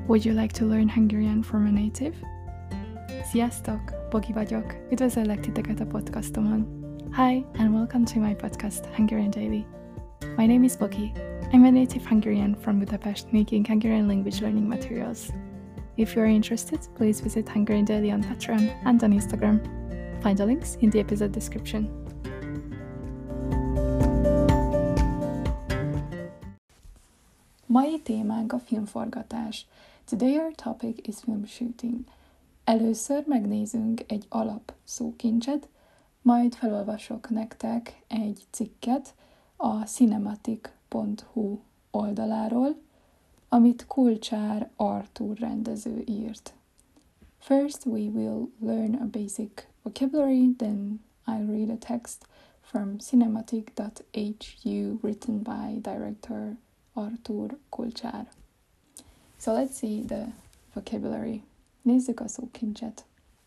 Would you like to learn Hungarian from a native? Sziasztok! Bogi vagyok. Üdvözöllek titeket a podcastomon. Hi, and welcome to my podcast, Hungarian Daily. My name is Bogi. I'm a native Hungarian from Budapest making Hungarian language learning materials. If you are interested, please visit Hungarian Daily on Patreon and on Instagram. Find the links in the episode description. Mai témánk a filmforgatás. Today our topic is film shooting. Először megnézünk egy alap szókincset, majd felolvasok nektek egy cikket a cinematic.hu oldaláról, amit Kulcsár Artúr rendező írt. First we will learn a basic vocabulary, then I'll read a text from cinematic.hu written by director Artúr Kulcsár. So let's see the vocabulary. Nézzük a szókincset.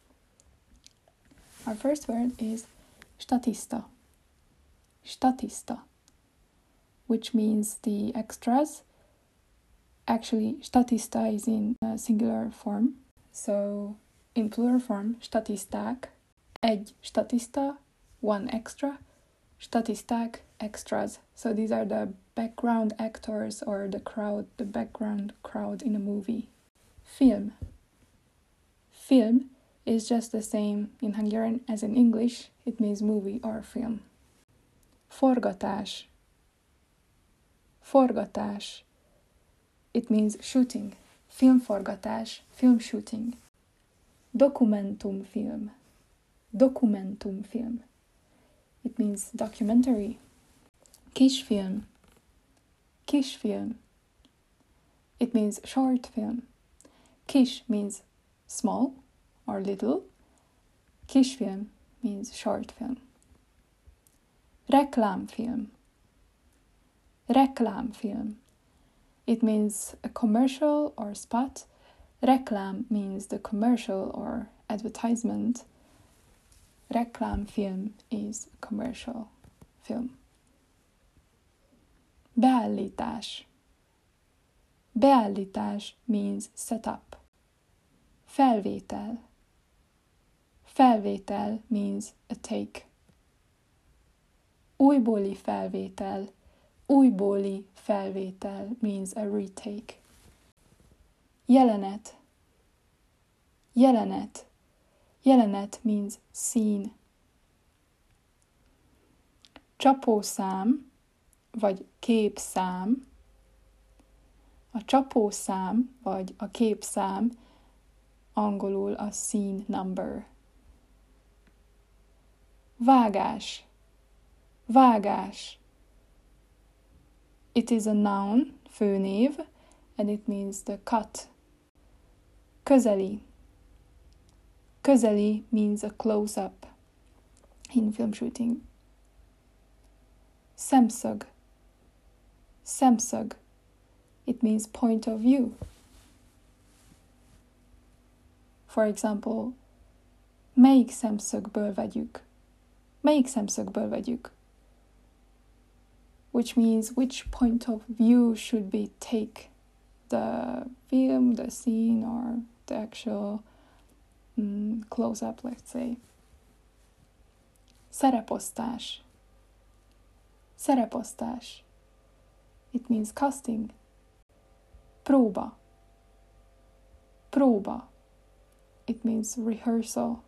Our first word is statista. Statista, which means the extras. Actually, statista is in singular form. So, in plural form, statisták, egy statista, one extra, statisták, extras. So these are the background actors or the background crowd in a movie. Film. Film is just the same in Hungarian as in English. It means movie or film. Forgatás. Forgatás. It means shooting. Filmforgatás, film shooting. Dokumentumfilm. Dokumentumfilm. It means documentary. Kisfilm. Kisfilm. It means short film. Kis means small or little. Kisfilm means short film. Reklámfilm. Reklámfilm. It means a commercial or spot. Reklám means the commercial or advertisement. Reklámfilm is a commercial film. Beállítás. Beállítás means setup. Felvétel. Felvétel means a take. Újbóli felvétel. Újbóli felvétel means a retake. Jelenet. Jelenet. Jelenet means scene. Csapószám vagy képszám. A csapószám vagy a képszám angolul a scene number. Vágás. Vágás. It is a noun, főnév, and it means the cut. Közeli. Közeli means a close-up in film shooting. Szemszög. Szemszög. It means point of view. For example, melyik szemszögből vegyük? Melyik szemszögből vegyük? Which means which point of view should we take the film, the scene, or the actual close-up, let's say. Szereposztás. Szereposztás. It means casting. Próba. Próba. It means rehearsal.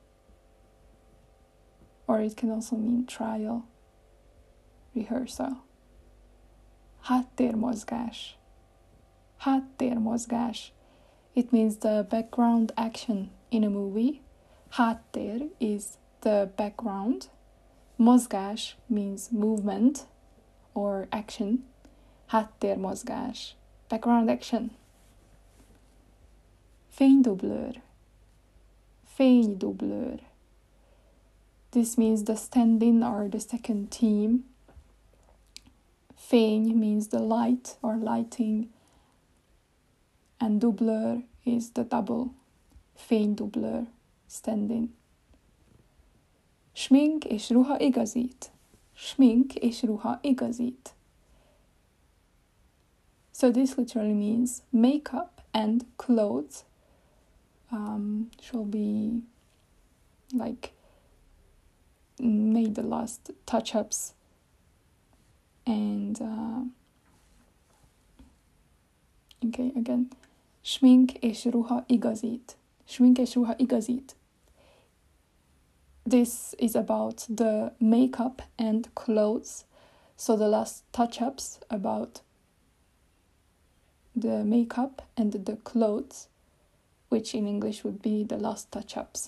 Or it can also mean trial. Rehearsal. Háttérmozgás. Háttérmozgás. It means the background action in a movie. Háttér is the background. Mozgás means movement or action. Háttérmozgás. Background action. Fénydublőr. Fénydublőr. This means the stand-in or the second team. Fény means the light or lighting. And dublőr is the double. Fénydublőr. Stand-in. Smink és ruha igazít. Smink és ruha igazít. So this literally means makeup and clothes shall be like made the last touch-ups, and okay, again, smink és ruha igazít. Smink és ruha igazít. This is about the makeup and clothes. So the last touch-ups about the makeup and the clothes, which in English would be the last touch-ups.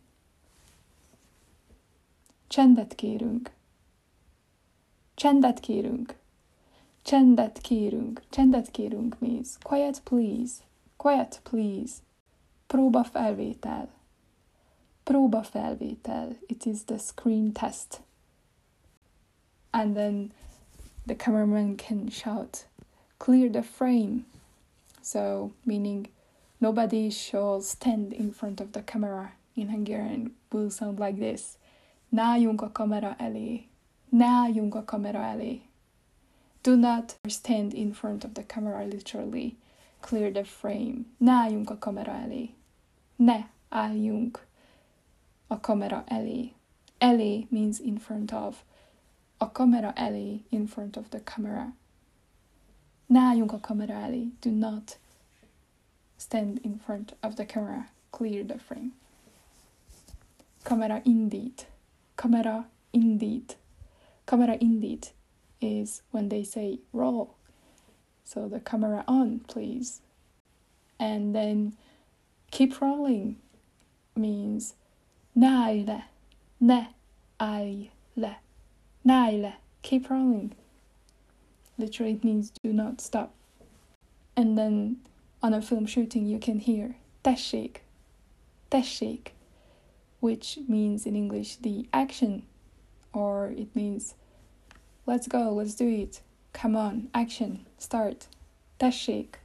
Csendet kérünk. Csendet kérünk. Csendet kérünk. Csendet kérünk means quiet please. Quiet please. Próba felvétel. Próba felvétel. It is the screen test. And then the cameraman can shout, clear the frame. So, meaning nobody shall stand in front of the camera. In Hungarian will sound like this. Ne álljunk a kamera elé. Ne álljunk a kamera elé. Do not stand in front of the camera, literally. Clear the frame. Ne álljunk a kamera elé. Ne álljunk a kamera elé. Elé means in front of. A kamera elé, in front of the camera. Ne álljunk a kamera elé. Do not stand in front of the camera. Clear the frame. Kamera indít. Kamera indít. Kamera indít is when they say roll. So the camera on, please. And then keep rolling means ne állj le. Ne állj le. Ne állj le. Keep rolling. Literally it means do not stop. And then on a film shooting you can hear tessék. Tessék. Which means in English the action, or it means let's go, let's do it, come on, action, start, tessék.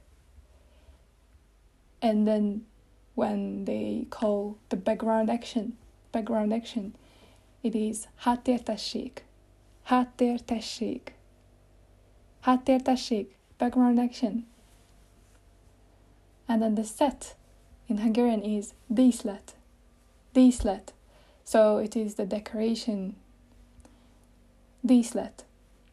And then when they call the background action, it is háttér tessék, háttér tessék, háttér tessék, background action. And then the set in Hungarian is díszlet. Díszlet. So it is the decoration. Díszlet.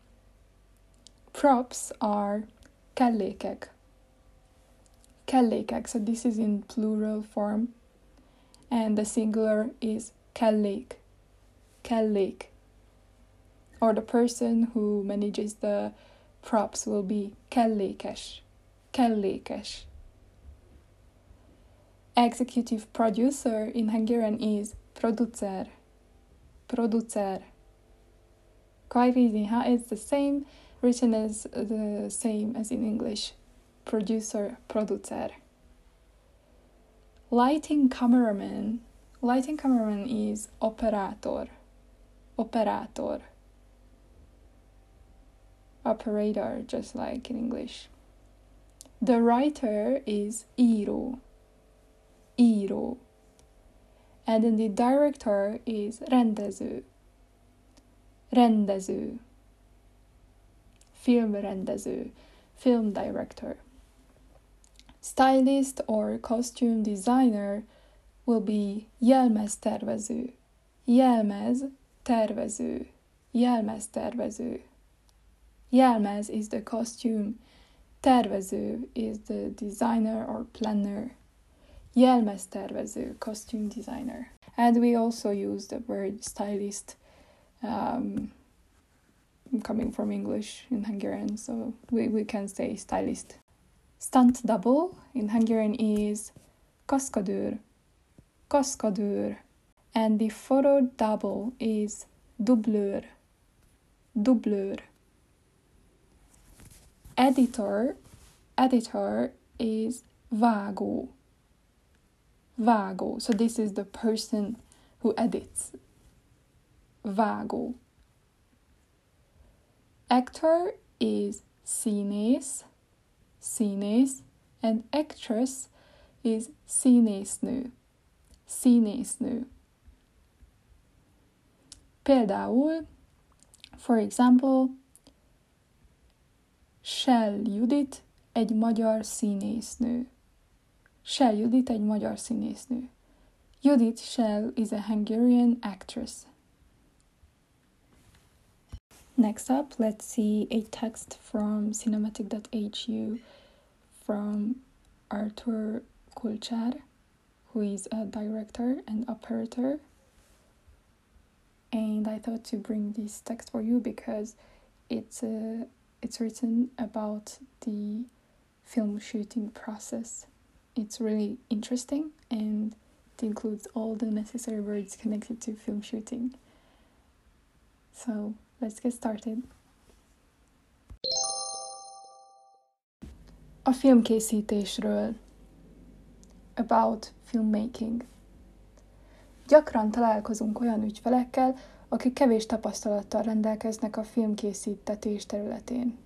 Props are kellékek. Kellékek. So this is in plural form. And the singular is kellék. Kellék. Or the person who manages the props will be kellékes. Kellékes. Executive producer in Hungarian is producer. Producer. Quite easy, huh? It's the same, written as the same as in English. Producer, producer. Lighting cameraman. Lighting cameraman is operator. Operator. Operator, just like in English. The writer is író. Író. And then the director is rendező. Rendező. Filmrendező. Film director. Stylist or costume designer will be jelmeztervező. Jelmeztervező. Jelmeztervező. Jelmez is the costume. Tervező is the designer or planner. Jelmeztervező, costume designer. And we also use the word stylist, coming from English in Hungarian, so we can say stylist. Stunt double in Hungarian is kaszkadőr. Kaszkadőr. And the photo double is dublőr. Dublőr. Editor is vágó. Vágó. So this is the person who edits. Vágó. Actor is színész. Színész. And actress is színésznő. Színésznő. Például, for example, Shell Judit egy magyar színésznő. Shell Judit egy magyar színésznő. Judith Shell is a Hungarian actress. Next up, let's see a text from cinematic.hu from Artur Kulcsár, who is a director and operator. And I thought to bring this text for you because it's written about the film shooting process. It's really interesting and it includes all the necessary words connected to film shooting. So let's get started. A filmkészítésről. About filmmaking. Gyakran találkozunk olyan ügyfelekkel, akik kevés tapasztalattal rendelkeznek a filmkészítetés területén.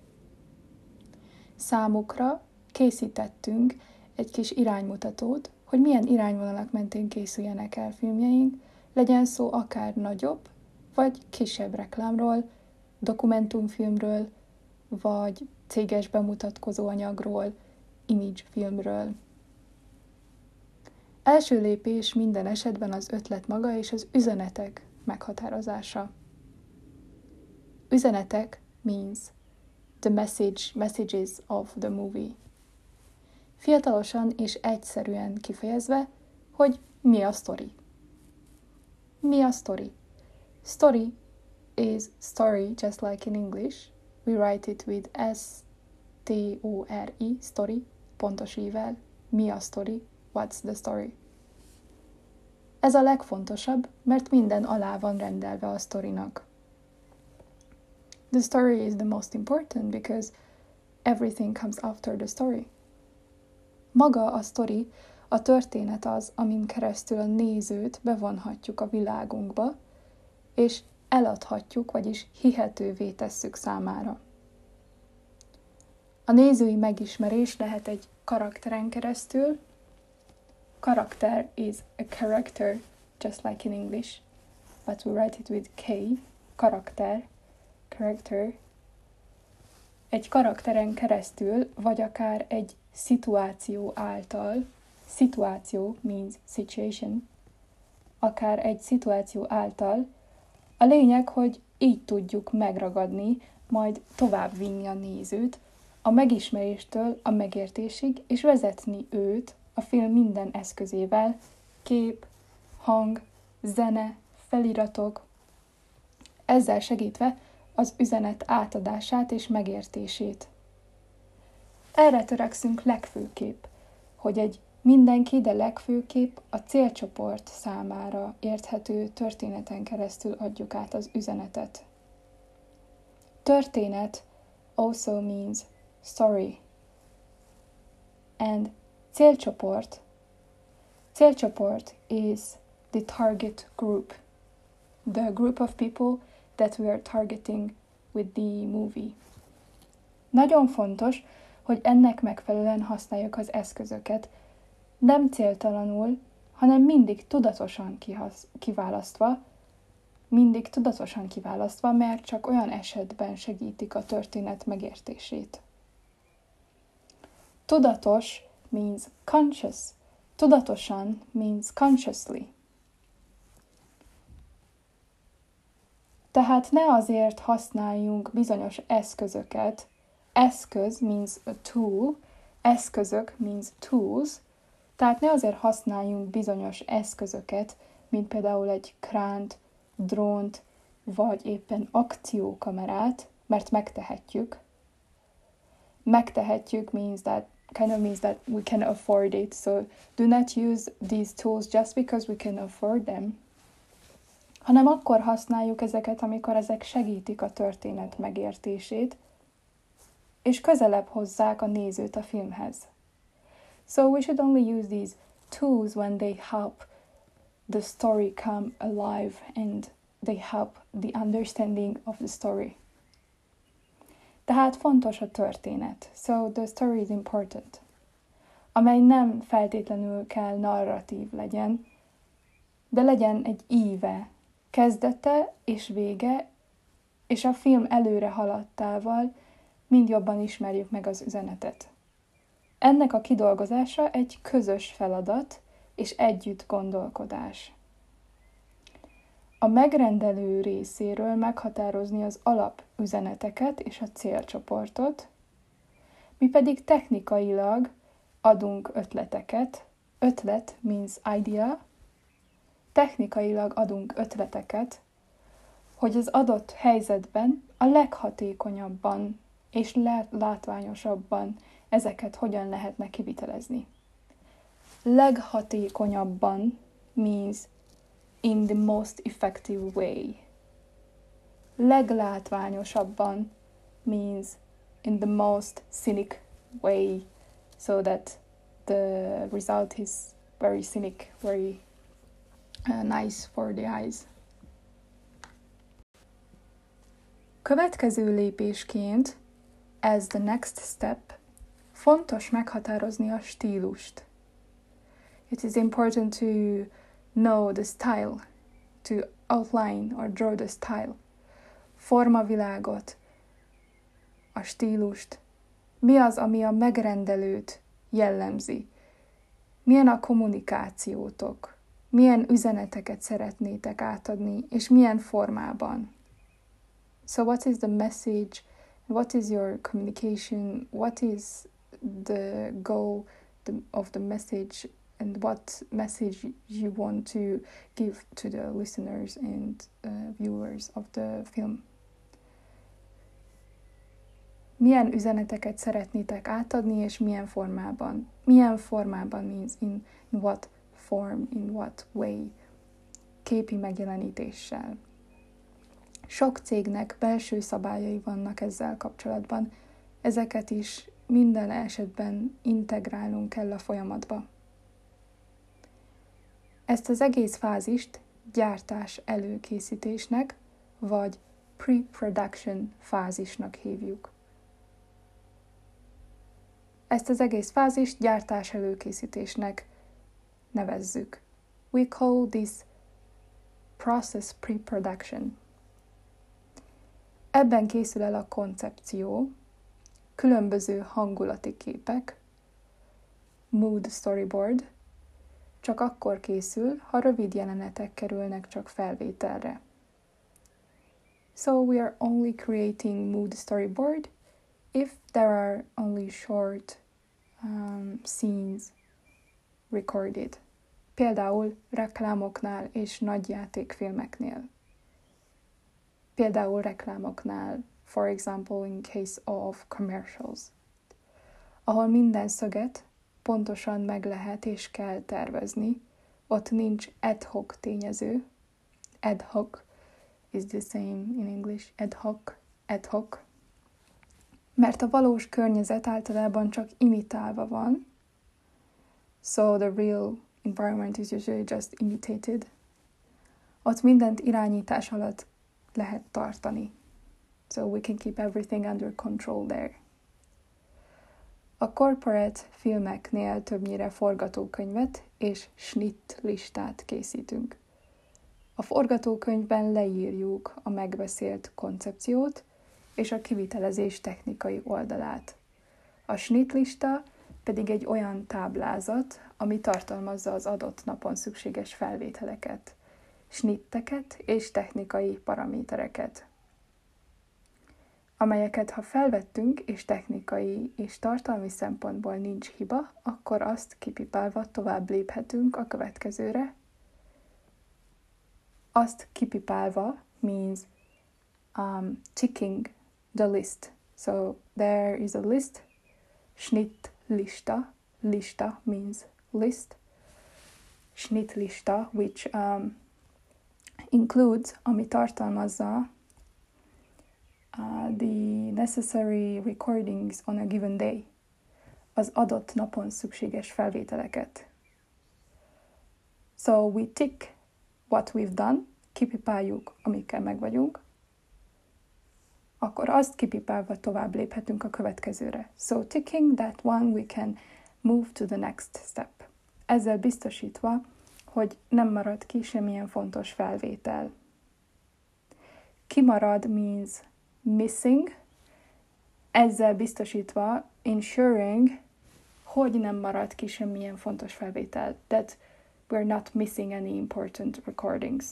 Számukra készítettünk egy kis iránymutatót, hogy milyen irányvonalak mentén készüljenek el filmjeink, legyen szó akár nagyobb vagy kisebb reklámról, dokumentumfilmről, vagy céges bemutatkozó anyagról, image filmről. Első lépés minden esetben az ötlet maga és az üzenetek meghatározása. Üzenetek means the messages of the movie. Fiatalosan és egyszerűen kifejezve, hogy mi a sztori. Mi a sztori? Story is story, just like in English. We write it with S-T-O-R-I, story, pontos ível. Mi a sztori? What's the story? Ez a legfontosabb, mert minden alá van rendelve a sztorinak. The story is the most important because everything comes after the story. Maga a sztori, a történet az, amin keresztül a nézőt bevonhatjuk a világunkba, és eladhatjuk, vagyis hihetővé tesszük számára. A nézői megismerés lehet egy karakteren keresztül. Karakter is a character, just like in English, but we write it with K. Karakter, character. Egy karakteren keresztül, vagy akár egy szituáció által, szituáció means situation, akár egy szituáció által, a lényeg, hogy így tudjuk megragadni, majd továbbvinni a nézőt, a megismeréstől a megértésig, és vezetni őt a film minden eszközével, kép, hang, zene, feliratok, ezzel segítve az üzenet átadását és megértését. Erre törekszünk legfőképp, hogy egy mindenki, de legfőképp a célcsoport számára érthető történeten keresztül adjuk át az üzenetet. Történet also means story. And célcsoport is the target group. The group of people that we are targeting with the movie. Nagyon fontos, hogy ennek megfelelően használjuk az eszközöket, nem céltalanul, hanem mindig tudatosan kiválasztva, mert csak olyan esetben segítik a történet megértését. Tudatos means conscious. Tudatosan means consciously. Tehát ne azért használjunk bizonyos eszközöket. Eszköz means a tool, eszközök means tools, tehát ne azért használjunk bizonyos eszközöket, mint például egy kránt, drónt, vagy éppen akciókamerát, mert megtehetjük. Megtehetjük means that we can afford it, so do not use these tools just because we can afford them, hanem akkor használjuk ezeket, amikor ezek segítik a történet megértését, és közelebb hozzák a nézőt a filmhez. So we should only use these tools when they help the story come alive and they help the understanding of the story. Tehát fontos a történet. So the story is important. Amely nem feltétlenül kell narratív legyen, de legyen egy íve, kezdete és vége, és a film előre haladtával mind jobban ismerjük meg az üzenetet. Ennek a kidolgozása egy közös feladat és együtt gondolkodás. A megrendelő részéről meghatározni az alapüzeneteket és a célcsoportot, mi pedig technikailag adunk ötleteket. Ötlet means idea. Technikailag adunk ötleteket, hogy az adott helyzetben a leghatékonyabban és látványosabban ezeket hogyan lehetne kivitelezni. Leghatékonyabban means in the most effective way. Leglátványosabban means in the most scenic way, so that the result is very scenic, very nice for the eyes. Következő lépésként, as the next step, fontos meghatározni a stílust. It is important to know the style, to outline or draw the style. Formavilágot, a stílust. Mi az, ami a megrendelőt jellemzi? Milyen a kommunikációtok? Milyen üzeneteket szeretnétek átadni, és milyen formában? So what is the message? What is your communication? What is the goal of the message? And what message you want to give to the listeners and viewers of the film? Milyen üzeneteket szeretnétek átadni, és milyen formában? Milyen formában means in what form, in what way? Képi megjelenítéssel. Sok cégnek belső szabályai vannak ezzel kapcsolatban. Ezeket is minden esetben integrálnunk kell a folyamatba. Ezt az egész fázist gyártás előkészítésnek, vagy pre-production fázisnak hívjuk. Ezt az egész fázist gyártás előkészítésnek nevezzük. We call this process pre-production. Ebben készül el a koncepció, különböző hangulati képek, mood storyboard, csak akkor készül, ha rövid jelenetek kerülnek csak felvételre. So we are only creating mood storyboard if there are only short scenes recorded. Például reklámoknál és nagyjátékfilmeknél. Például reklámoknál, for example in case of commercials, ahol minden szöget pontosan meg lehet és kell tervezni, ott nincs ad hoc tényező. Ad hoc is the same in English, ad hoc. Mert a valós környezet általában csak imitálva van, so the real environment is usually just imitated. Ott mindent irányítás alatt lehet tartani. So we can keep everything under control there. A corporate filmeknél többnyire forgatókönyvet és snitt listát készítünk. A forgatókönyvben leírjuk a megbeszélt koncepciót és a kivitelezés technikai oldalát. A snitt lista pedig egy olyan táblázat, ami tartalmazza az adott napon szükséges felvételeket, snitteket és technikai paramétereket, amelyeket ha felvettünk és technikai és tartalmi szempontból nincs hiba, akkor azt kipipálva tovább léphetünk a következőre. Azt kipipálva means ticking the list. So there is a list, Schnitt lista. Lista means list. Schnitt lista, which includes, ami tartalmazza the necessary recordings on a given day. Az adott napon szükséges felvételeket. So we tick what we've done, kipipáljuk, amikkel meg vagyunk, akkor azt kipipálva tovább léphetünk a következőre. So ticking that one, we can move to the next step. Ezzel biztosítva, hogy nem marad ki semmilyen fontos felvétel. Kimarad means missing, ezzel biztosítva, ensuring, hogy nem maradt ki semmilyen fontos felvétel, that we're not missing any important recordings.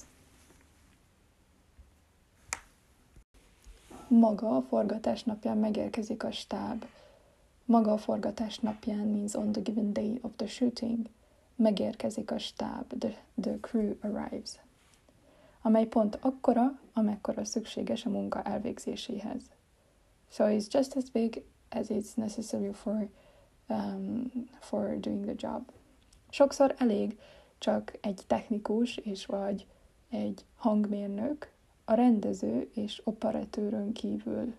Maga a forgatás napján megérkezik a stáb. Maga a forgatás napján means on the given day of the shooting. Megérkezik a stáb, the crew arrives. Amely pont akkora, amekkora szükséges a munka elvégzéséhez. So it's just as big as it's necessary for doing the job. Sokszor elég csak egy technikus és vagy egy hangmérnök, a rendező és operatőrön kívül.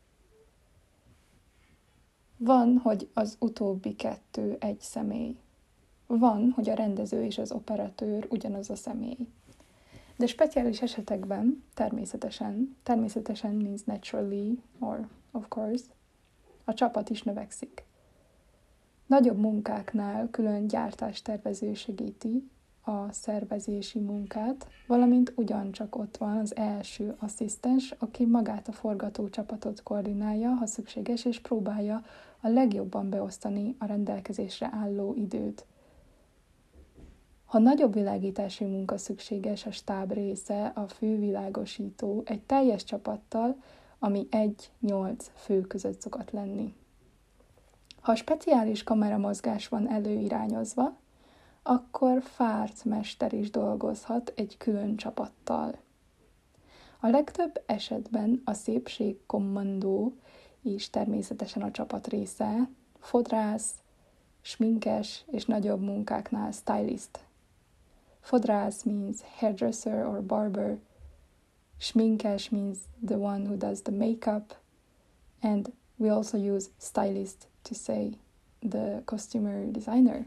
Van, hogy az utóbbi kettő egy személy. Van, hogy a rendező és az operatőr ugyanaz a személy. De speciális esetekben természetesen means naturally, or of course, a csapat is növekszik. Nagyobb munkáknál külön gyártástervező segíti a szervezési munkát, valamint ugyancsak ott van az első asszisztens, aki magát a forgatócsapatot koordinálja, ha szükséges, és próbálja a legjobban beosztani a rendelkezésre álló időt. Ha nagyobb világítási munka szükséges, a stáb része, a fővilágosító egy teljes csapattal, ami 1-8 fő között szokott lenni. Ha speciális kameramozgás van előirányozva, akkor fárcmester is dolgozhat egy külön csapattal. A legtöbb esetben a szépségkommandó is természetesen a csapat része, fodrász, sminkes és nagyobb munkáknál stylist. Fodrász means hairdresser or barber, sminkes means the one who does the makeup, and we also use stylist to say the costume designer.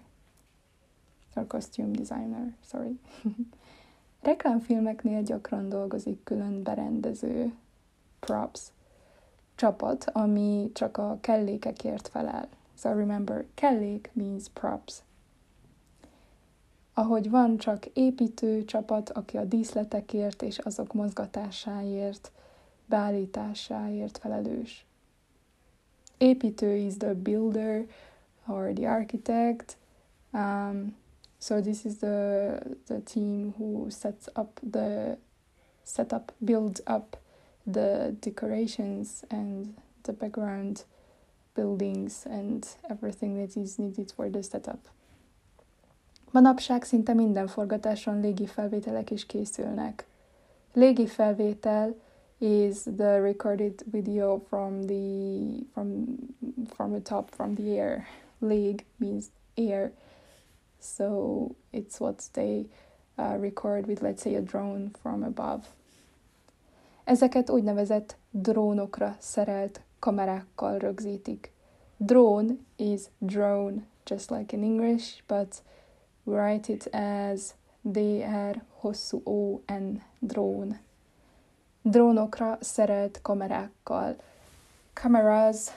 Reklámfilmeknél gyakran dolgozik külön berendező, props, csapat, ami csak a kellékekért felel. So remember, kellék means props. Ahogy van csak építő csapat, aki a díszletekért és azok mozgatásáért, beállításáért felelős. Építő is the builder or the architect. So this is the team who builds up the decorations and the background buildings and everything that is needed for the setup. Manapság szinte minden forgatáson légifelvételek is készülnek. Légifelvétel is the recorded video from the top, from the air. Lég means air. So it's what they record with, let's say, a drone from above. Ezeket úgynevezett drónokra szerelt kamerákkal rögzítik. Drone is drone, just like in English, but we write it as D-R-hosszú-O-N, drone. Drónokra szerelt kamerákkal. Cameras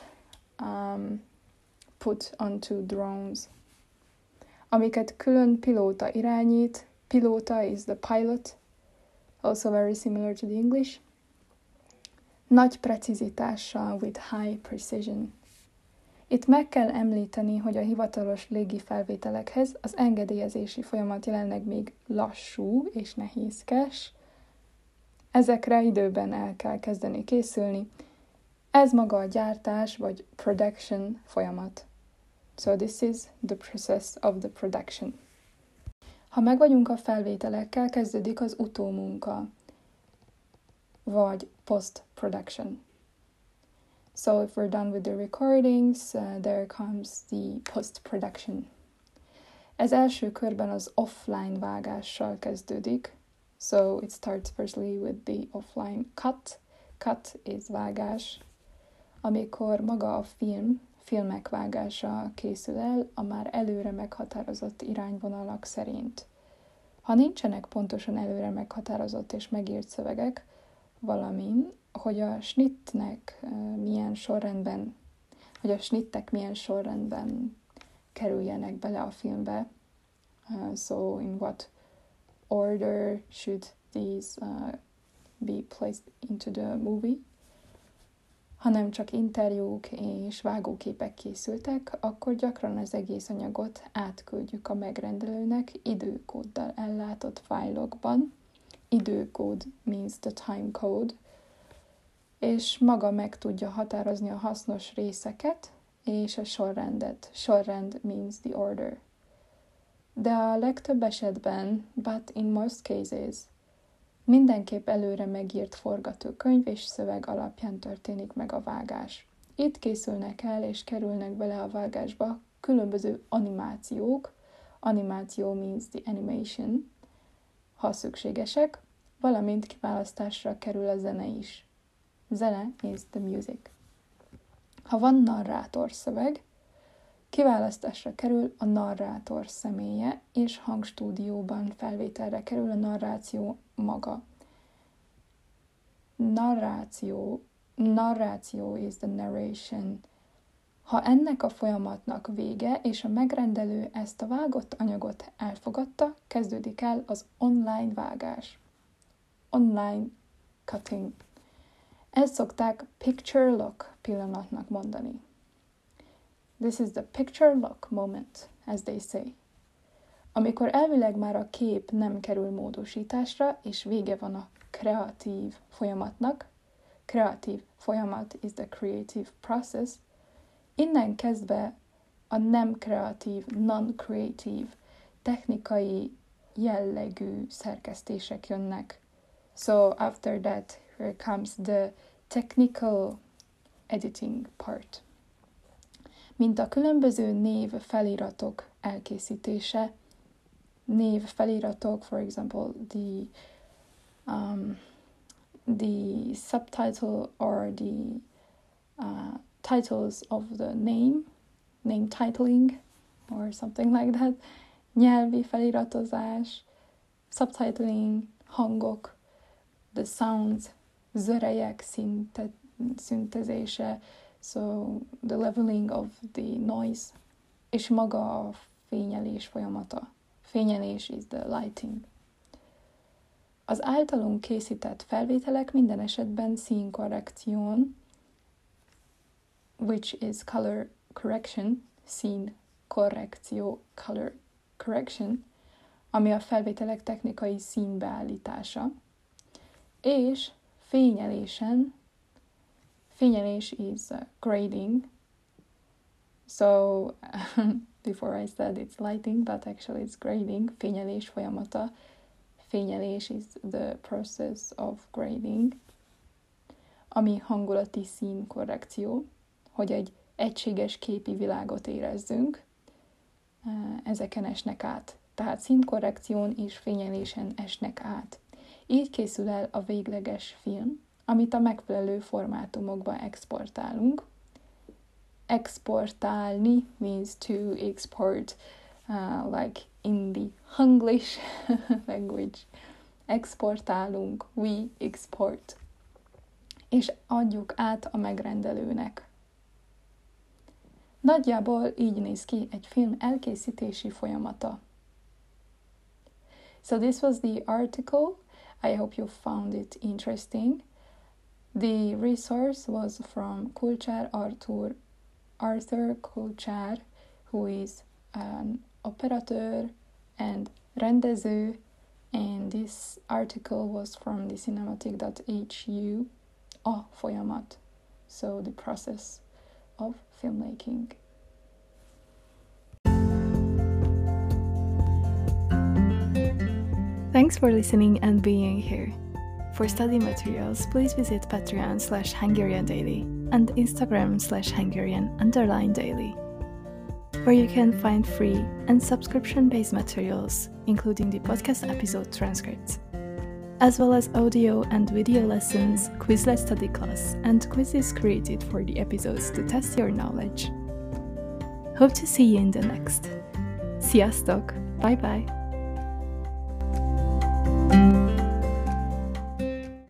put onto drones. Amiket külön pilóta irányít. Pilóta is the pilot, also very similar to the English. Nagy precizitással, with high precision. Itt meg kell említeni, hogy a hivatalos légifelvételekhez az engedélyezési folyamat jelenleg még lassú és nehézkes. Ezekre időben el kell kezdeni készülni. Ez maga a gyártás vagy production folyamat. So this is the process of the production. Ha megvagyunk a felvételekkel, kezdődik az utómunka, vagy post-production. So if we're done with the recordings, there comes the post-production. Ez első körben az offline vágással kezdődik. So it starts firstly with the offline cut. Cut is vágás. Amikor maga a filmek vágása készül el a már előre meghatározott irányvonalak szerint. Ha nincsenek pontosan előre meghatározott és megírt szövegek, valamint, hogy a snittek milyen sorrendben kerüljenek bele a filmbe. So in what order should these be placed into the movie? hanem csak interjúk és vágóképek készültek, akkor gyakran az egész anyagot átküldjük a megrendelőnek időkóddal ellátott fájlokban. Időkód means the time code, és maga meg tudja határozni a hasznos részeket és a sorrendet. Sorrend means the order. De a legtöbb esetben, but in most cases, mindenképp előre megírt forgatókönyv és szöveg alapján történik meg a vágás. Itt készülnek el és kerülnek bele a vágásba különböző animációk, animáció means the animation, ha szükségesek, valamint kiválasztásra kerül a zene is. Zene is the music. Ha van narrátor szöveg, kiválasztásra kerül a narrátor személye, és hangstúdióban felvételre kerül a narráció maga. Narráció is the narration. Ha ennek a folyamatnak vége, és a megrendelő ezt a vágott anyagot elfogadta, kezdődik el az online vágás. Online cutting. Ezt szokták picture lock pillanatnak mondani. This is the picture lock moment, as they say. Amikor elvileg már a kép nem kerül módosításra, és vége van a kreatív folyamatnak, kreatív folyamat is the creative process, innen kezdve a nem kreatív, non-creative, technikai jellegű szerkesztések jönnek. So after that, here comes the technical editing part. Mint a különböző névfeliratok elkészítése, névfeliratok, for example, the subtitle or the titles of the name titling, or something like that, nyelvi feliratozás, subtitling, hangok, the sounds, zörejek szintezése, so the leveling of the noise, és maga a fényelés folyamata. Fényelés is the lighting. Az általunk készített felvételek minden esetben színkorrekción, which is color correction, színkorrekció, color correction, ami a felvételek technikai színbeállítása, és fényelés is grading. So before I said it's lighting, but actually it's grading, fényelés folyamata. Fényelés is the process of grading, ami hangulati színkorrekció, hogy egy egységes képi világot érezzünk, ezeken esnek át. Tehát színkorrekción és fényelésen esnek át. Így készül el a végleges film, amit a megfelelő formátumokba exportálunk. Exportálni means to export, like in the English language. Exportálunk, we export. És adjuk át a megrendelőnek. Nagyjából így néz ki egy film elkészítési folyamata. So this was the article. I hope you found it interesting. The resource was from Kulcsár Arthur Kulcsár, who is an operator and rendező, and this article was from the cinematic.hu, a folyamat, so the process of filmmaking. Thanks for listening and being here. For study materials, please visit Patreon/HungarianDaily and Instagram/Hungarian_daily, where you can find free and subscription-based materials, including the podcast episode transcripts, as well as audio and video lessons, Quizlet study class, and quizzes created for the episodes to test your knowledge. Hope to see you in the next. Sziasztok! Bye-bye!